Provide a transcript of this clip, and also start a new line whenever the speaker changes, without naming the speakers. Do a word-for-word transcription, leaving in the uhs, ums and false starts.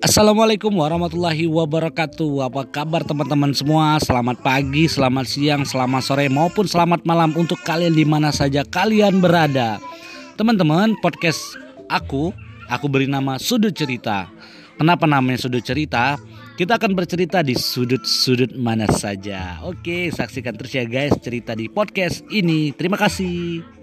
Assalamualaikum warahmatullahi wabarakatuh. Apa kabar teman-teman semua? Selamat pagi, selamat siang, selamat sore maupun selamat malam untuk kalian di mana saja kalian berada. Teman-teman, podcast aku, aku beri nama Sudut Cerita. Kenapa namanya Sudut Cerita? Kita akan bercerita di sudut-sudut mana saja. Oke, saksikan terus ya guys cerita di podcast ini. Terima kasih.